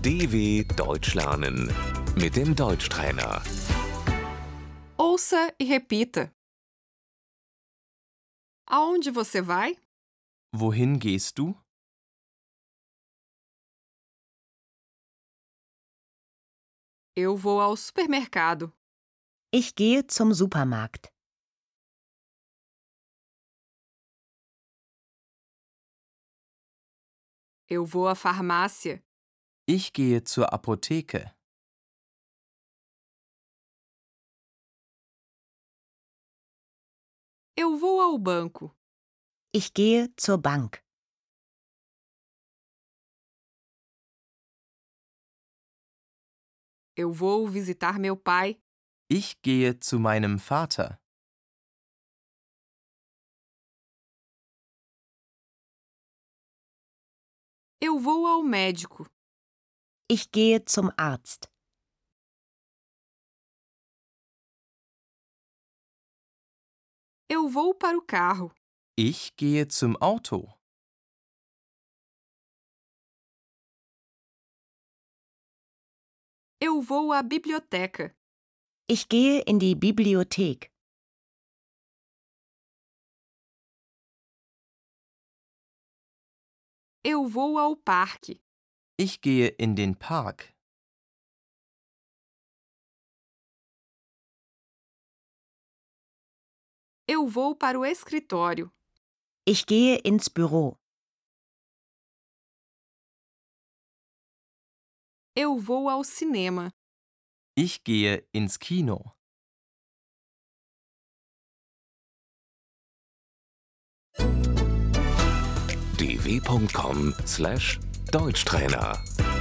DW Deutsch lernen mit dem Deutschtrainer. Ouça e repita. Aonde você vai? Wohin gehst du? Eu vou ao supermercado. Ich gehe zum Supermarkt. Eu vou à farmácia. Ich gehe zur Apotheke. Eu vou ao banco. Ich gehe zur Bank. Eu vou visitar meu pai. Ich gehe zu meinem Vater. Eu vou ao médico. Ich gehe zum Arzt. Eu vou para o carro. Ich gehe zum Auto. Eu vou à biblioteca. Ich gehe in die Bibliothek. Eu vou ao parque. Ich gehe in den Park. Eu vou para o escritório. Ich gehe ins Büro. Eu vou ao cinema. Ich gehe ins Kino. dw.com/Deutschtrainer